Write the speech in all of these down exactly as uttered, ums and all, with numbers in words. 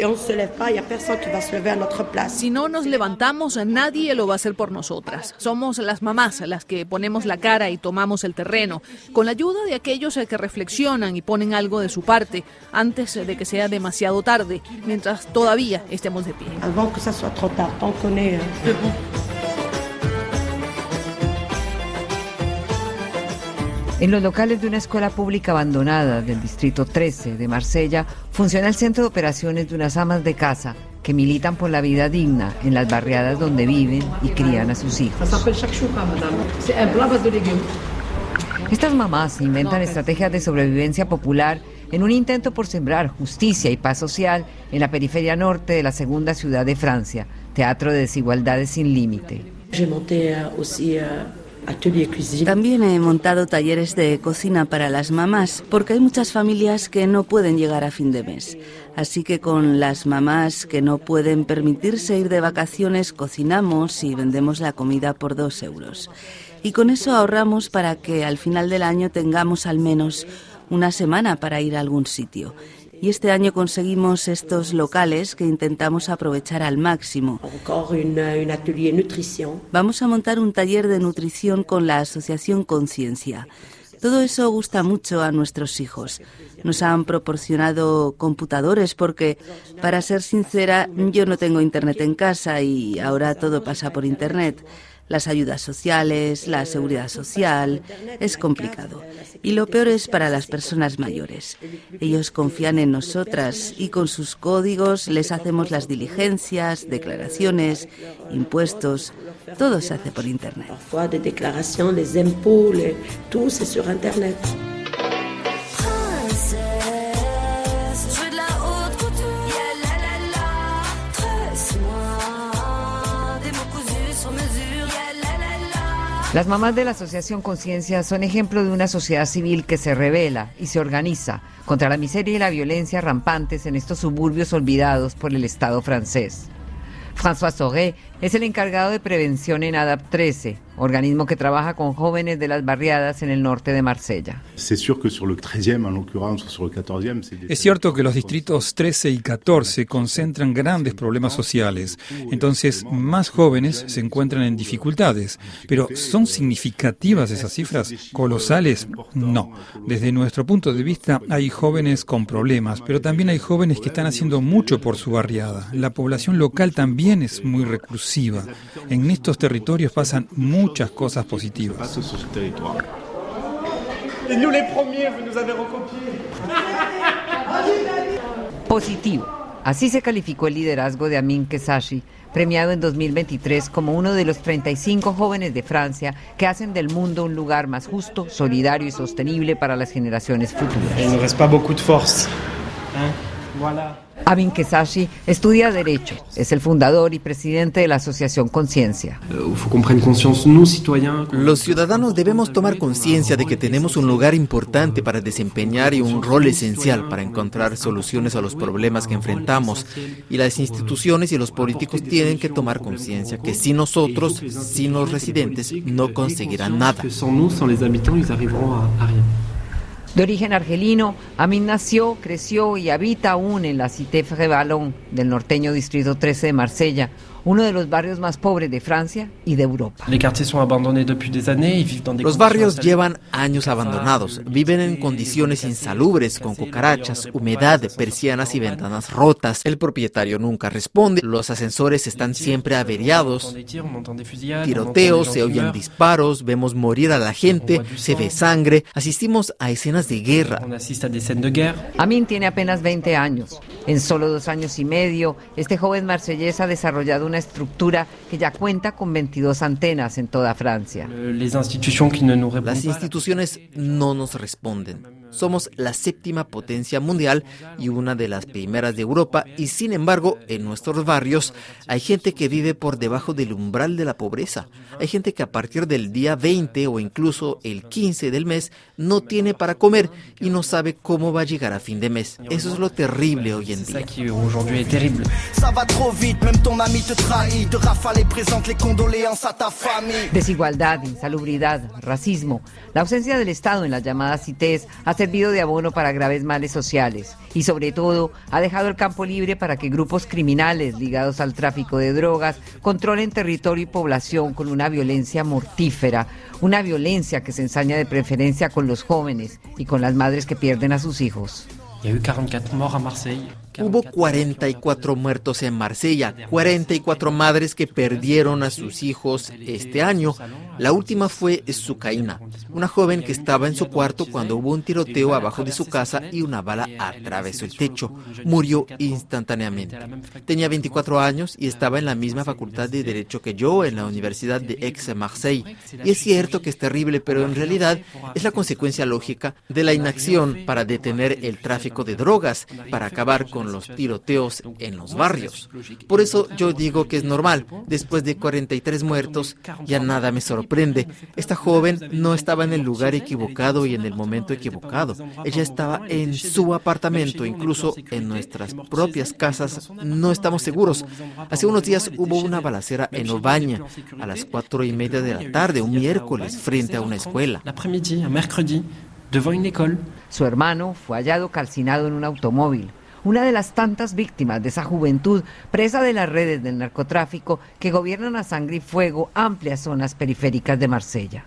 Si no nos levantamos, nadie lo va a hacer por nosotras. Somos las mamás las que ponemos la cara y tomamos el terreno, con la ayuda de aquellos que reflexionan y ponen algo de su parte antes de que sea demasiado tarde, mientras todavía estemos de pie. En los locales de una escuela pública abandonada del distrito trece de Marsella funciona el centro de operaciones de unas amas de casa que militan por la vida digna en las barriadas donde viven y crían a sus hijos. Estas mamás inventan estrategias de sobrevivencia popular en un intento por sembrar justicia y paz social en la periferia norte de la segunda ciudad de Francia, teatro de desigualdades sin límite. También he montado talleres de cocina para las mamás, porque hay muchas familias que no pueden llegar a fin de mes. Así que con las mamás que no pueden permitirse ir de vacaciones, cocinamos y vendemos la comida por dos euros. Y con eso ahorramos para que al final del año tengamos al menos una semana para ir a algún sitio. Y este año conseguimos estos locales que intentamos aprovechar al máximo. Vamos a montar un taller de nutrición con la Asociación Conciencia. Todo eso gusta mucho a nuestros hijos. Nos han proporcionado computadores porque, para ser sincera, yo no tengo internet en casa y ahora todo pasa por internet. Las ayudas sociales, la seguridad social, es complicado. Y lo peor es para las personas mayores. Ellos confían en nosotras y con sus códigos les hacemos las diligencias, declaraciones, impuestos. Todo se hace por internet. Las mamás de la Asociación Conciencia son ejemplo de una sociedad civil que se revela y se organiza contra la miseria y la violencia rampantes en estos suburbios olvidados por el Estado francés. François Soré es el encargado de prevención en ADAPT trece, organismo que trabaja con jóvenes de las barriadas en el norte de Marsella. Es cierto que los distritos trece y catorce concentran grandes problemas sociales, entonces más jóvenes se encuentran en dificultades. Pero ¿son significativas esas cifras? ¿Colosales? No. Desde nuestro punto de vista hay jóvenes con problemas, pero también hay jóvenes que están haciendo mucho por su barriada. La población local también es muy reclusiva. En estos territorios pasan muchas cosas positivas. Positivo. Así se calificó el liderazgo de Amin Kesashi, premiado en dos mil veintitrés como uno de los treinta y cinco jóvenes de Francia que hacen del mundo un lugar más justo, solidario y sostenible para las generaciones futuras. Amin Kesashi estudia Derecho, es el fundador y presidente de la Asociación Conciencia. Los ciudadanos debemos tomar conciencia de que tenemos un lugar importante para desempeñar y un rol esencial para encontrar soluciones a los problemas que enfrentamos. Y las instituciones y los políticos tienen que tomar conciencia que sin nosotros, sin los residentes, no conseguirán nada. De origen argelino, Amin nació, creció y habita aún en la Cité Frévalon del norteño distrito trece de Marsella, uno de los barrios más pobres de Francia y de Europa. Los barrios llevan años abandonados, viven en condiciones insalubres, con cucarachas, humedad, persianas y ventanas rotas. El propietario nunca responde, los ascensores están siempre averiados, tiroteos, se oyen disparos, vemos morir a la gente, se ve sangre, asistimos a escenas de guerra. Amin tiene apenas veinte años. En solo dos años y medio, este joven marsellés ha desarrollado una estructura que ya cuenta con veintidós antenas en toda Francia. Las instituciones no nos responden. Somos la séptima potencia mundial y una de las primeras de Europa, y sin embargo, en nuestros barrios hay gente que vive por debajo del umbral de la pobreza. Hay gente que a partir del día veinte o incluso el quince del mes no tiene para comer y no sabe cómo va a llegar a fin de mes. Eso es lo terrible hoy en día. Desigualdad, insalubridad, racismo, la ausencia del Estado en las llamadas cités hace servido de abono para graves males sociales y sobre todo ha dejado el campo libre para que grupos criminales ligados al tráfico de drogas controlen territorio y población con una violencia mortífera, una violencia que se ensaña de preferencia con los jóvenes y con las madres que pierden a sus hijos. Hubo cuarenta y cuatro muertos en Marsella, cuarenta y cuatro madres que perdieron a sus hijos este año. La última fue Sukaina, una joven que estaba en su cuarto cuando hubo un tiroteo abajo de su casa y una bala atravesó el techo. Murió instantáneamente. Tenía veinticuatro años y estaba en la misma facultad de Derecho que yo en la Universidad de Aix-Marseille. Y es cierto que es terrible, pero en realidad es la consecuencia lógica de la inacción para detener el tráfico de drogas, para acabar con los tiroteos en los barrios. Por eso yo digo que es normal. Después de cuarenta y tres muertos, ya nada me sorprende. Esta joven no estaba en el lugar equivocado y en el momento equivocado. Ella estaba en su apartamento, incluso en nuestras propias casas. No estamos seguros. Hace unos días hubo una balacera en Ovaña, a las cuatro y media de la tarde, un miércoles, frente a una escuela. Su hermano fue hallado calcinado en un automóvil. Una de las tantas víctimas de esa juventud presa de las redes del narcotráfico que gobiernan a sangre y fuego amplias zonas periféricas de Marsella.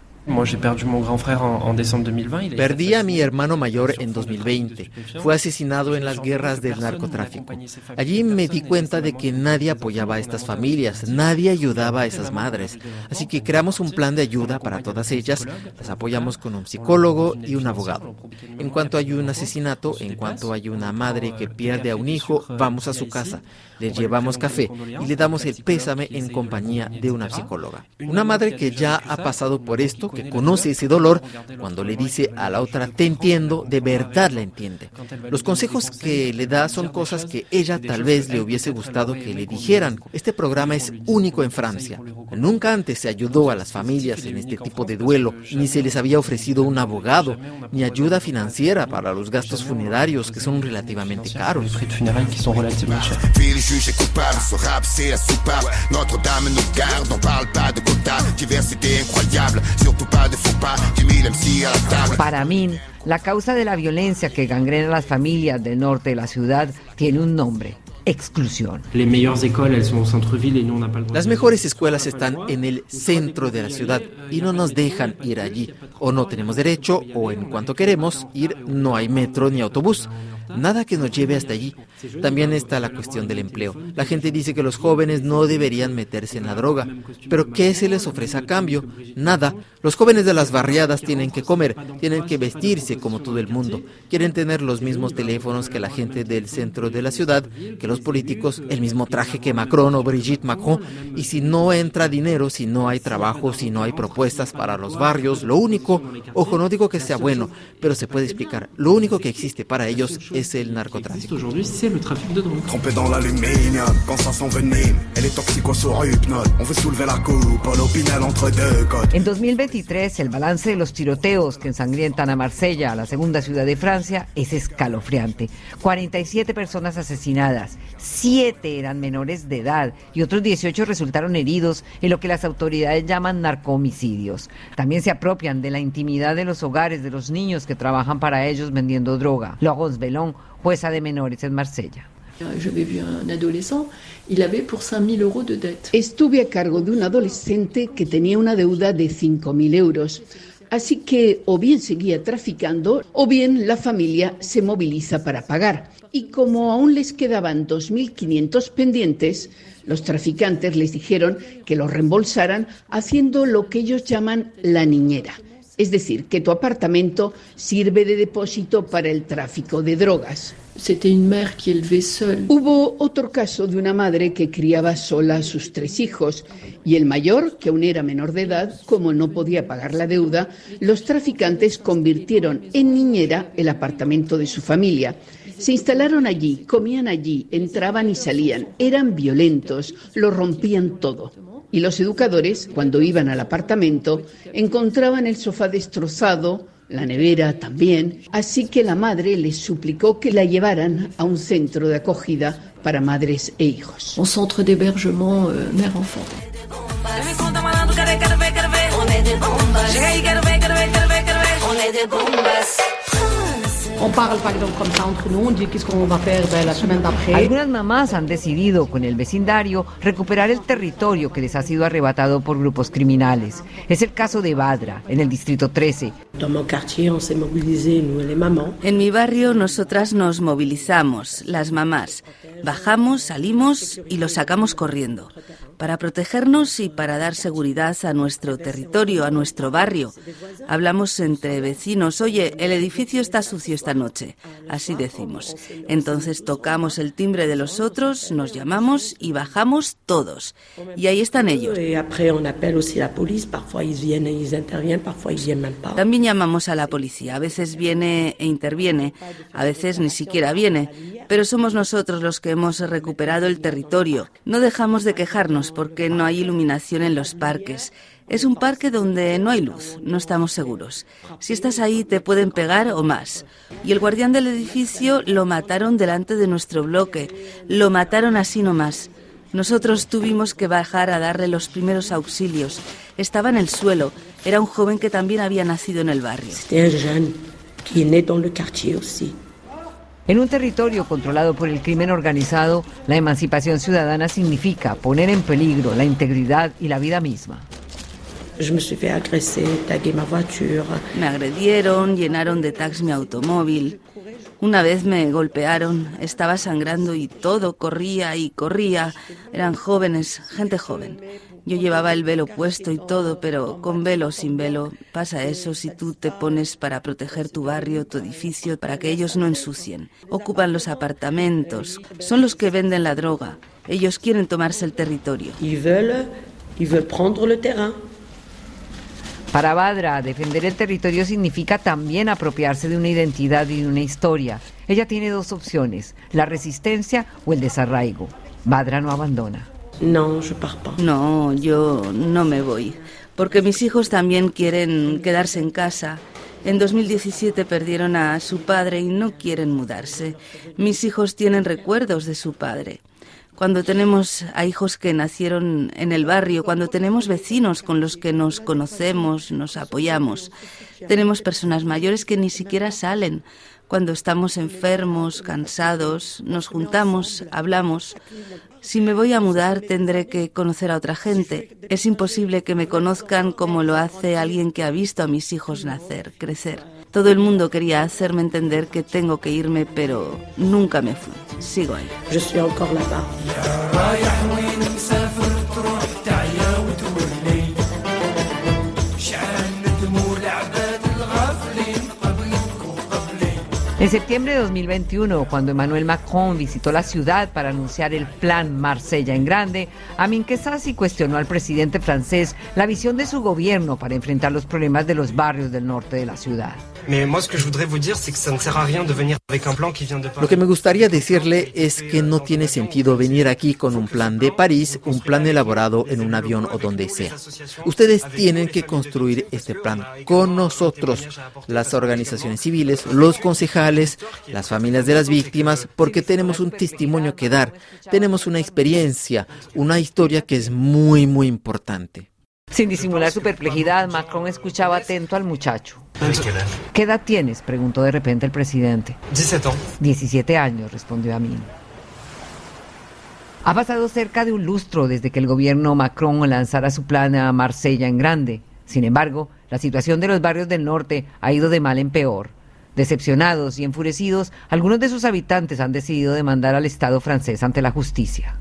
Perdí a mi hermano mayor en dos mil veinte. Fue asesinado en las guerras del narcotráfico. Allí me di cuenta de que nadie apoyaba a estas familias, nadie ayudaba a esas madres. Así que creamos un plan de ayuda para todas ellas. Las apoyamos con un psicólogo y un abogado. En cuanto hay un asesinato, en cuanto hay una madre que pierde a un hijo, vamos a su casa, le llevamos café y le damos el pésame en compañía de una psicóloga. Una madre que ya ha pasado por esto, que conoce ese dolor, cuando le dice a la otra, te entiendo, de verdad la entiende. Los consejos que le da son cosas que ella tal vez le hubiese gustado que le dijeran. Este programa es único en Francia. Nunca antes se ayudó a las familias en este tipo de duelo, ni se les había ofrecido un abogado, ni ayuda financiera para los gastos funerarios, que son relativamente caros. Para Amin, la causa de la violencia que gangrena las familias del norte de la ciudad tiene un nombre: exclusión. Las mejores escuelas están en el centro de la ciudad y no nos dejan ir allí. O no tenemos derecho, o en cuanto queremos ir no hay metro ni autobús. Nada que nos lleve hasta allí. También está la cuestión del empleo. La gente dice que los jóvenes no deberían meterse en la droga. ¿Pero qué se les ofrece a cambio? Nada. Los jóvenes de las barriadas tienen que comer, tienen que vestirse como todo el mundo. Quieren tener los mismos teléfonos que la gente del centro de la ciudad, que los políticos, el mismo traje que Macron o Brigitte Macron. Y si no entra dinero, si no hay trabajo, si no hay propuestas para los barrios, lo único, ojo, no digo que sea bueno, pero se puede explicar, lo único que existe para ellos es el narcotráfico. En dos mil veintitrés, el balance de los tiroteos que ensangrientan a Marsella, la segunda ciudad de Francia, es escalofriante. cuarenta y siete personas asesinadas, siete eran menores de edad y otros dieciocho resultaron heridos en lo que las autoridades llaman narcohomicidios. También se apropian de la intimidad de los hogares de los niños que trabajan para ellos vendiendo droga. Laurence Bellon, jueza de menores en Marsella. Estuve a cargo de un adolescente que tenía una deuda de cinco mil euros. Así que o bien seguía traficando o bien la familia se moviliza para pagar. Y como aún les quedaban dos mil quinientos pendientes, los traficantes les dijeron que los reembolsaran haciendo lo que ellos llaman la niñera. Es decir, que tu apartamento sirve de depósito para el tráfico de drogas. Hubo otro caso de una madre que criaba sola a sus tres hijos y el mayor, que aún era menor de edad, como no podía pagar la deuda, los traficantes convirtieron en niñera el apartamento de su familia. Se instalaron allí, comían allí, entraban y salían, eran violentos, lo rompían todo. Y los educadores, cuando iban al apartamento, encontraban el sofá destrozado, la nevera también, así que la madre les suplicó que la llevaran a un centro de acogida para madres e hijos. Un centre d'hébergement euh, mère-enfant. On est des bombas. Algunas mamás han decidido, con el vecindario, recuperar el territorio que les ha sido arrebatado por grupos criminales. Es el caso de Badra, en el distrito trece. En mi barrio nosotras nos movilizamos, las mamás. Bajamos, salimos y los sacamos corriendo, para protegernos y para dar seguridad a nuestro territorio, a nuestro barrio. Hablamos entre vecinos, oye, el edificio está sucio esta noche, así decimos. Entonces tocamos el timbre de los otros, nos llamamos y bajamos todos. Y ahí están ellos. También llamamos a la policía, a veces viene e interviene, a veces ni siquiera viene, pero somos nosotros los que hemos recuperado el territorio. No dejamos de quejarnos porque no hay iluminación en los parques. Es un parque donde no hay luz, no estamos seguros. Si estás ahí te pueden pegar o más. Y el guardián del edificio lo mataron delante de nuestro bloque. Lo mataron así nomás. Nosotros tuvimos que bajar a darle los primeros auxilios. Estaba en el suelo. Era un joven que también había nacido en el barrio. En un territorio controlado por el crimen organizado, la emancipación ciudadana significa poner en peligro la integridad y la vida misma. Me agredieron, llenaron de tags mi automóvil. Una vez me golpearon, estaba sangrando y todo corría y corría. Eran jóvenes, gente joven. Yo llevaba el velo puesto y todo, pero con velo o sin velo pasa eso si tú te pones para proteger tu barrio, tu edificio, para que ellos no ensucien. Ocupan los apartamentos, son los que venden la droga. Ellos quieren tomarse el territorio. Para Badra, defender el territorio significa también apropiarse de una identidad y de una historia. Ella tiene dos opciones, la resistencia o el desarraigo. Badra no abandona. No, je pars pas. No, yo no me voy, porque mis hijos también quieren quedarse en casa. En dos mil diecisiete perdieron a su padre y no quieren mudarse. Mis hijos tienen recuerdos de su padre. Cuando tenemos a hijos que nacieron en el barrio, cuando tenemos vecinos con los que nos conocemos, nos apoyamos, tenemos personas mayores que ni siquiera salen. Cuando estamos enfermos, cansados, nos juntamos, hablamos. Si me voy a mudar, tendré que conocer a otra gente. Es imposible que me conozcan como lo hace alguien que ha visto a mis hijos nacer, crecer. Todo el mundo quería hacerme entender que tengo que irme, pero nunca me fui. Sigo ahí. Je suis encore là-bas. En septiembre de dos mil veintiuno, cuando Emmanuel Macron visitó la ciudad para anunciar el plan Marsella en grande, Amin Kessasi cuestionó al presidente francés la visión de su gobierno para enfrentar los problemas de los barrios del norte de la ciudad. Lo que me gustaría decirle es que no tiene sentido venir aquí con un plan de París, un plan elaborado en un avión o donde sea. Ustedes tienen que construir este plan con nosotros, las organizaciones civiles, los concejales, las familias de las víctimas, porque tenemos un testimonio que dar, tenemos una experiencia, una historia que es muy, muy importante. Sin disimular su perplejidad, Macron escuchaba atento al muchacho. ¿Qué edad tienes?, preguntó de repente el presidente. diecisiete años, respondió Amin. Ha pasado cerca de un lustro desde que el gobierno Macron lanzara su plan a Marsella en grande. Sin embargo, la situación de los barrios del norte ha ido de mal en peor. Decepcionados y enfurecidos, algunos de sus habitantes han decidido demandar al Estado francés ante la justicia.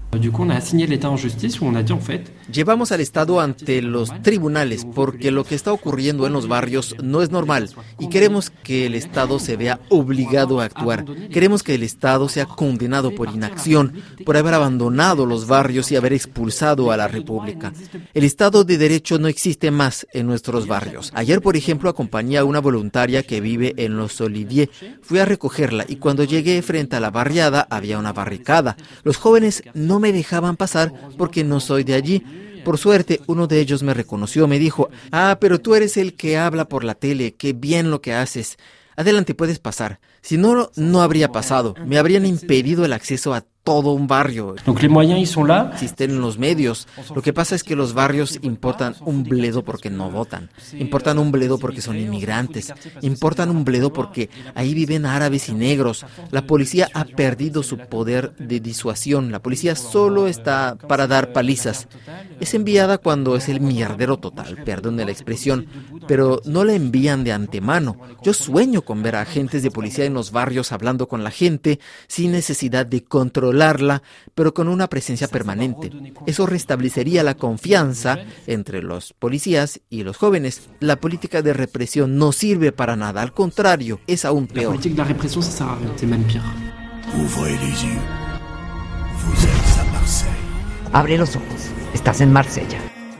Llevamos al Estado ante los tribunales porque lo que está ocurriendo en los barrios no es normal y queremos que el Estado se vea obligado a actuar. Queremos que el Estado sea condenado por inacción, por haber abandonado los barrios y haber expulsado a la República. El Estado de Derecho no existe más en nuestros barrios. Ayer, por ejemplo, acompañé a una voluntaria que vive en los Olivier. Fui a recogerla y cuando llegué frente a la barriada había una barricada. Los jóvenes no me dejaban pasar porque no soy de allí. Por suerte, uno de ellos me reconoció, me dijo: ah, pero tú eres el que habla por la tele, qué bien lo que haces. Adelante, puedes pasar. Si no, no habría pasado. Me habrían impedido el acceso a todo un barrio. Donc les moyens, ils sont là. Existen los medios. Lo que pasa es que los barrios importan un bledo porque no votan. Importan un bledo porque son inmigrantes. Importan un bledo porque ahí viven árabes y negros. La policía ha perdido su poder de disuasión. La policía solo está para dar palizas. Es enviada cuando es el mierdero total, perdón de la expresión, pero no la envían de antemano. Yo sueño con ver a agentes de policía en los barrios hablando con la gente sin necesidad de controlarla, pero con una presencia permanente. Eso restablecería la confianza entre los policías y los jóvenes. La política de represión no sirve para nada, al contrario, es aún peor. La política de la represión, ça sert à rien, c'est même pire. Ouvrez les yeux. Vous êtes à Marseille. Abre los ojos. Estás en Marsella.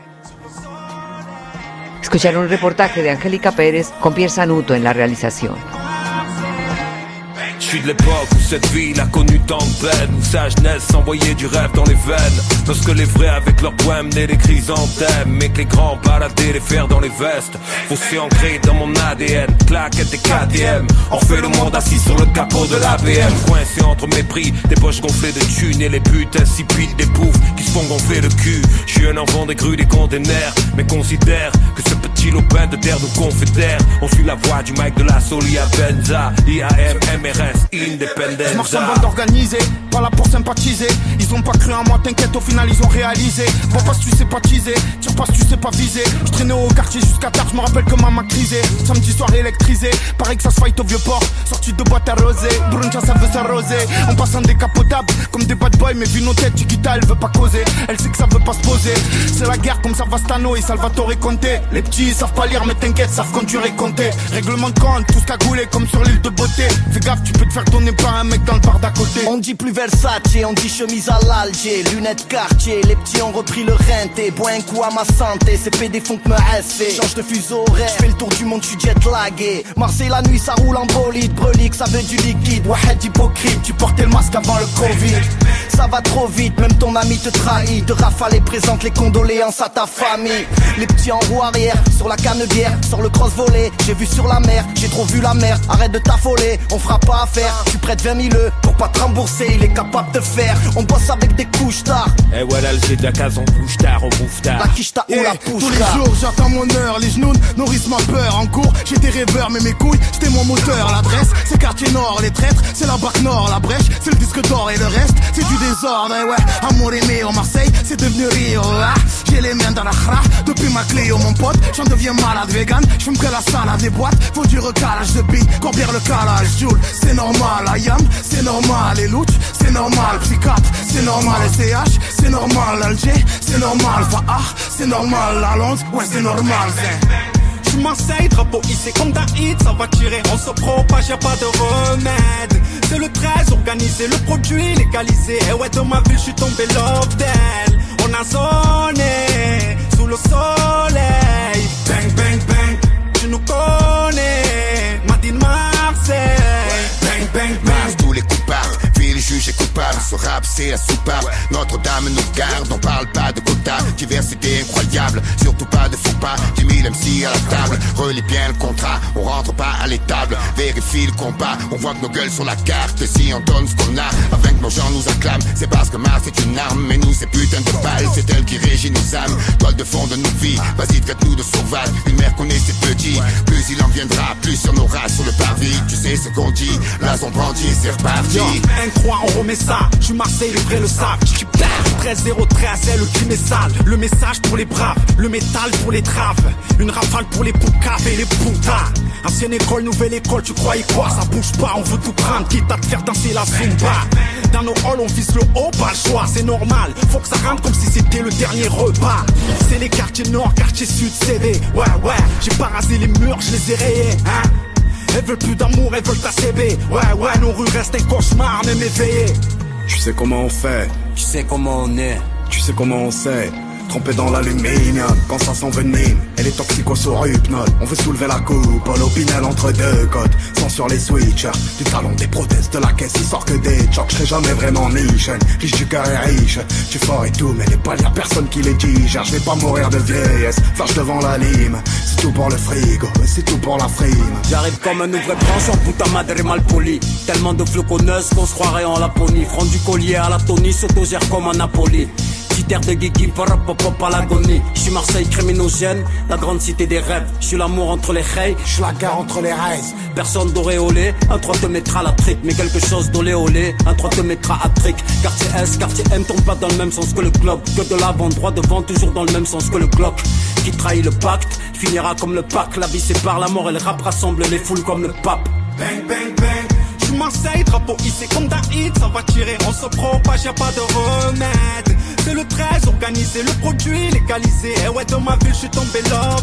Escucharon un reportaje de Angélica Pérez con Pierre Sanuto en la realización. Je suis de l'époque où cette ville a connu tant de peine, où sa jeunesse s'envoyait du rêve dans les veines. Lorsque les vrais avec leurs poèmes menaient des chrysanthèmes, mais que les grands baladaient les fers dans les vestes. Fossé ancré dans mon A D N, claquettes et K T M. On fait le monde assis sur le capot de l'A B M. Coincé entre mépris, des poches gonflées de thunes et les buts insipides des poufs qui se font gonfler le cul. Je suis un enfant des grues des containers, mais considère que ce petit lopin de terre nous confédère. On suit la voie du Mike de la Solia Benza, I A M, M R S. Je marche en bande organisée, pas là pour sympathiser. Ils ont pas cru en moi, t'inquiète, au final ils ont réalisé. Vois pas si tu sais pas teaser, tire pas si tu sais pas viser. Je traînais au quartier jusqu'à tard, je me rappelle que maman crisait. Samedi soir électrisé, pareil que ça se fight au vieux port. Sorti de boîte arrosée, bruncha ça veut s'arroser. En passant décapotable, comme des bad boys, mais vu nos têtes, Chiquita elle veut pas causer. Elle sait que ça veut pas se poser. C'est la guerre comme Savastano et Salvatore Conte. Les petits ils savent pas lire mais t'inquiète, savent conduire et compter. Règlement de compte, tous cagoulés comme sur l'île de beauté. Fais gaffe, tu peux te faire tourner par un mec dans le bar d'à côté. On dit plus Versace, on dit chemise à l'Alger, lunettes Cartier, les petits ont repris le renté, bois un coup à ma santé, ces P D font que me rester. Change de fuseau horaire, j'fais le tour du monde, j'suis jet lagué. Marseille la nuit ça roule en bolide, brelique ça veut du liquide, wahed hypocrite, tu portais le masque avant le Covid. Ça va trop vite, même ton ami te trahit, de rafale et présente les condoléances à ta famille. Les petits en roue arrière, sur la canebière, sur le cross volé, j'ai vu sur la mer, j'ai trop vu la mer, arrête de t'affoler, on fera pas affaire. Tu prêtes vingt mille pour pas te rembourser, il est capable de faire. On bosse avec des couches tard. Et voilà le G de la case, on bouge tard, on bouffe tard. La quiche t'a ou la pouche. Tous les jours j'attends mon heure, les genoux nourrissent ma peur. En cours j'étais rêveur mais mes couilles c'était mon moteur. L'adresse c'est quartier nord, les traîtres c'est la bac nord. La brèche c'est le disque d'or et le reste c'est du désordre. Et ouais, amour aimé au Marseille c'est devenu Rio. Ah, j'ai les mains dans la khra, depuis ma Cléo mon pote. J'en deviens malade vegan, j'fume que la salade des boîtes. Faut du recalage de billes, combien le calage Joule. C'est normal, Ayam, c'est normal. Et Louch, c'est normal. Picat, c'est normal. S C H, c'est normal. Alger, c'est normal. Fahar, c'est normal. La Londres, ouais c'est normal. J'suis Marseille, drapeau hissé comme Daïd, ça va tirer, on se propage, y'a pas de remède. C'est le treize, organisé, le produit légalisé. Et ouais, dans ma ville, j'suis tombé love d'elle. On a zoné, sous le soleil. Bang, bang, bang, tu nous connais, Martine Marseille. Bang, bang, bang, tous les coupables, ville juge et coupable. Ce rap c'est la soupape, Notre-Dame nous garde. On parle pas de quota, diversité incroyable. Surtout pas de faux pas, dix mille M C à la table. Relis bien le contrat, on rentre pas à l'étable. Vérifie le combat, on voit que nos gueules sur la carte. Si on donne ce qu'on a, afin que nos gens nous acclament. C'est parce que Mars est une arme, mais nous c'est putain de balles. C'est elle qui régit nos âmes, toile de fond de nos vies. Vas-y traite-nous de sauvages, une mère connaît ses petits. Plus il en viendra, plus sur nos races sur le parvis. Tu sais ce qu'on dit, là on brandit, c'est reparti. Un croix, on remet ça, j'suis Marseille, les vrais le savent. Tu perds, treize zéro treize, c'est le crime est sale. Le message pour les braves, le métal pour les traves. Une rafale pour les poucaves et les poutas. Ancienne école, nouvelle école, tu croyais quoi? Ça bouge pas, on veut tout prendre, quitte à te faire danser la zumba. Dans nos halls, on vise le haut, pas le choix, c'est normal. Faut que ça rentre comme si c'était le dernier repas. C'est les quartiers nord, quartier sud, C D. Ouais, ouais, j'ai pas rasé les murs, je les ai rayés, hein. Elles veulent plus d'amour, elles veulent ta C B. Ouais, ouais, nos rues restent un cauchemar, même éveillé. Tu sais comment on fait, tu sais comment on est, tu sais comment on sait. trempé dans l'aluminium, quand ça s'envenime, elle est toxico sur hypnose. On veut soulever la coupe, l'opinel entre deux côtes, sans sur les switchers, du talon des prothèses de la caisse, il sort que des chocs, je serai jamais vraiment niche, riche du cœur et riche, tu fort et tout, mais les balles y'a personne qui les digère, je vais pas mourir de vieillesse, flash devant la lime, c'est tout pour le frigo, c'est tout pour la frime. J'arrive comme un ouvre-branche en puta madre mal poli, tellement de floconneuses qu'on se croirait en Laponie, front du collier à la Tony, s'autogère comme un Napoli. Critère de Guigui, parapopop à l'agonie. J'suis Marseille criminogène, la grande cité des rêves. J'suis l'amour entre les reilles, j'suis la gare entre les raises. Personne d'auréolé, un trois te mettra la trique. Mais quelque chose d'olé olé, un trois te mettra à trick. Quartier S, quartier M, tombe pas dans le même sens que le club. Que de l'avant, droit devant, toujours dans le même sens que le Glock. Qui trahit le pacte, finira comme le pack. La vie sépare la mort et le rap rassemble les foules comme le pape. Bang, bang, bang. J'suis Marseille, drapeau hissé comme Daïd. Ça va tirer, on se propage, y'a pas de remède. C'est le treize, organisé, le produit légalisé. Eh ouais, dans ma ville, j'suis tombé là.